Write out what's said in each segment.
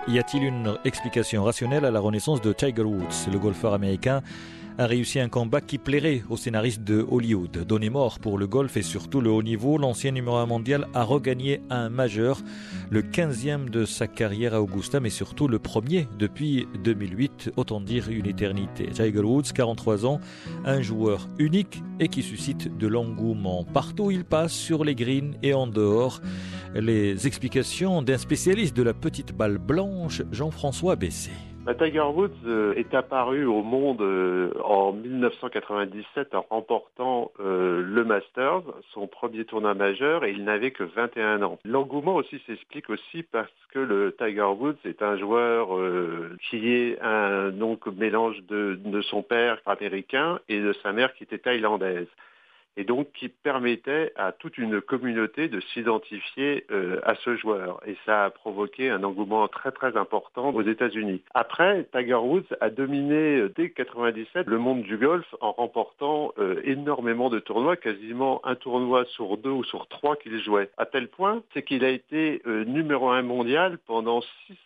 Y a-t-il une explication rationnelle à la renaissance de Tiger Woods? Le golfeur américain a réussi un comeback qui plairait aux scénaristes de Hollywood. Donné mort pour le golf et surtout le haut niveau, l'ancien numéro 1 mondial a regagné un majeur, le 15e de sa carrière à Augusta, mais surtout le premier depuis 2008, autant dire une éternité. Tiger Woods, 43 ans, un joueur unique et qui suscite de l'engouement. Partout où il passe, sur les greens et en dehors, les explications d'un spécialiste de la petite balle blanche, Jean-François Bessé. Tiger Woods est apparu au monde en 1997 en remportant le Masters, son premier tournoi majeur, et il n'avait que 21 ans. L'engouement aussi s'explique aussi parce que le Tiger Woods est un joueur qui est un mélange de son père américain et de sa mère qui était thaïlandaise. Et donc qui permettait à toute une communauté de s'identifier à ce joueur. Et ça a provoqué un engouement très très important aux États-Unis. Après, Tiger Woods a dominé dès 97 le monde du golf en remportant énormément de tournois, quasiment un tournoi sur 2 ou sur 3 qu'il jouait. À tel point, c'est qu'il a été numéro 1 mondial pendant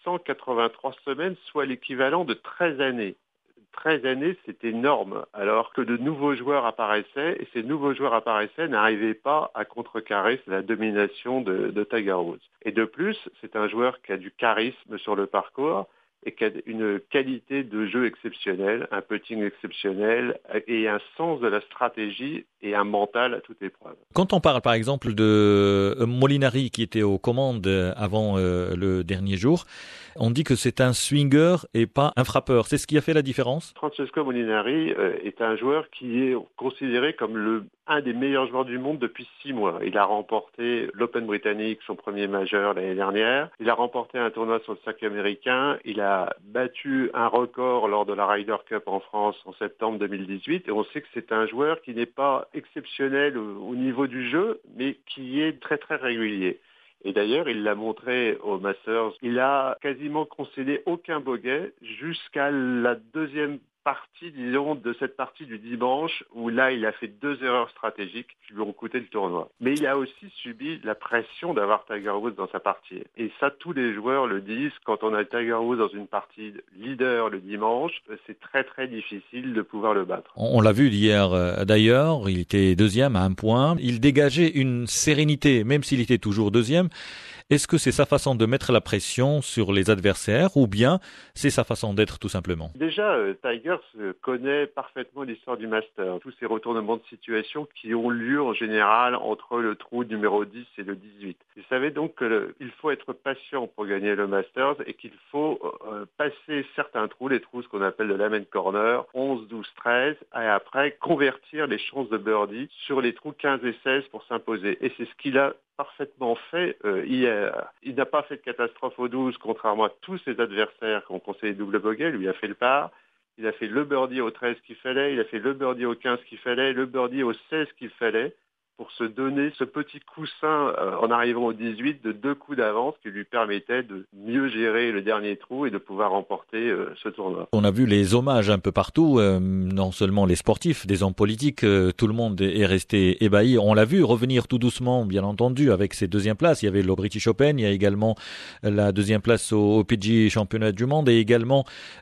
683 semaines, soit l'équivalent de 13 années. 13 années, c'est énorme, alors que de nouveaux joueurs apparaissaient, et ces nouveaux joueurs apparaissaient n'arrivaient pas à contrecarrer la domination de Tiger Woods. Et de plus, c'est un joueur qui a du charisme sur le parcours, et qui a une qualité de jeu exceptionnelle, un putting exceptionnel et un sens de la stratégie et un mental à toute épreuve. Quand on parle par exemple de Molinari qui était aux commandes avant le dernier jour, on dit que c'est un swinger et pas un frappeur. C'est ce qui a fait la différence? Francesco Molinari est un joueur qui est considéré comme un des meilleurs joueurs du monde depuis 6 mois. Il a remporté l'Open britannique, son premier majeur l'année dernière. Il a remporté un tournoi sur le circuit américain. Il a battu un record lors de la Ryder Cup en France en septembre 2018. Et on sait que c'est un joueur qui n'est pas exceptionnel au niveau du jeu, mais qui est très très régulier. Et d'ailleurs, il l'a montré au Masters. Il a quasiment concédé aucun bogey jusqu'à la deuxième partie, disons, de cette partie du dimanche, où là, il a fait 2 erreurs stratégiques qui lui ont coûté le tournoi. Mais il a aussi subi la pression d'avoir Tiger Woods dans sa partie. Et ça, tous les joueurs le disent. Quand on a Tiger Woods dans une partie leader le dimanche, c'est très très difficile de pouvoir le battre. On l'a vu hier d'ailleurs, il était deuxième à 1 point. Il dégageait une sérénité, même s'il était toujours deuxième. Est-ce que c'est sa façon de mettre la pression sur les adversaires ou bien c'est sa façon d'être tout simplement? Déjà, Tiger connaît parfaitement l'histoire du Master. Tous ces retournements de situation qui ont lieu en général entre le trou numéro 10 et le 18. Il savait donc qu'il faut être patient pour gagner le Masters et qu'il faut passer certains trous, les trous ce qu'on appelle le Lament Corner, 11, 12, 13, et après convertir les chances de birdie sur les trous 15 et 16 pour s'imposer. Et c'est ce qu'il a parfaitement fait hier. Il n'a pas fait de catastrophe au 12, contrairement à tous ses adversaires qui ont conseillé double bogey. Lui a fait le par. Il a fait le birdie au 13 qu'il fallait, il a fait le birdie au 15 qu'il fallait, le birdie au 16 qu'il fallait, pour se donner ce petit coussin en arrivant au 18 de 2 coups d'avance qui lui permettait de mieux gérer le dernier trou et de pouvoir remporter ce tournoi. On a vu les hommages un peu partout, non seulement les sportifs, des hommes politiques, tout le monde est resté ébahi. On l'a vu revenir tout doucement, bien entendu, avec ses deuxièmes places. Il y avait le British Open, il y a également la deuxième place au PGA Championnat du Monde et également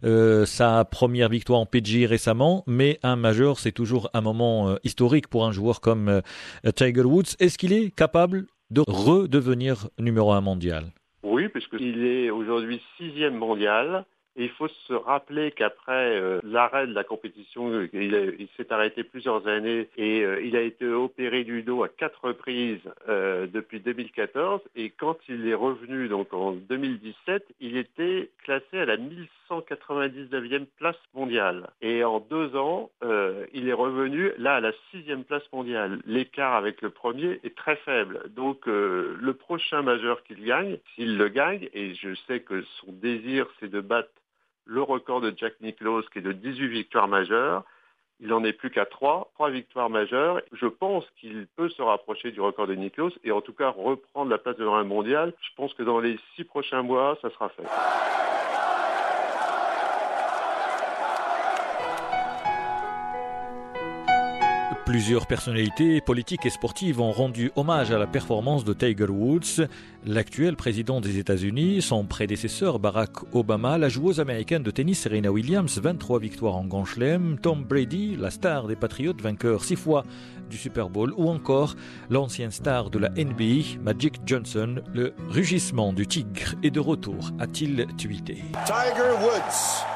sa première victoire en PGA récemment. Mais un majeur, c'est toujours un moment historique pour un joueur comme Tiger Woods. Est-ce qu'il est capable de redevenir numéro 1 mondial? Oui, puisqu'il est aujourd'hui 6e mondial. Et il faut se rappeler qu'après l'arrêt de la compétition, il s'est arrêté plusieurs années et il a été opéré du dos à 4 reprises depuis 2014. Et quand il est revenu donc en 2017, il était classé à la 1199e place mondiale. Et en 2 ans, il est revenu là à la 6e place mondiale. L'écart avec le premier est très faible. Donc le prochain majeur qu'il gagne, s'il le gagne, et je sais que son désir c'est de battre le record de Jack Nicklaus qui est de 18 victoires majeures. Il n'en est plus qu'à 3 victoires majeures. Je pense qu'il peut se rapprocher du record de Nicklaus et en tout cas reprendre la place de numéro 1 mondial. Je pense que dans les 6 prochains mois, ça sera fait. Plusieurs personnalités politiques et sportives ont rendu hommage à la performance de Tiger Woods. L'actuel président des États-Unis, son prédécesseur Barack Obama, la joueuse américaine de tennis Serena Williams, 23 victoires en Grand Chelem, Tom Brady, la star des Patriots, vainqueur 6 fois du Super Bowl, ou encore l'ancienne star de la NBA, Magic Johnson. Le rugissement du tigre est de retour, a-t-il tweeté. Tiger Woods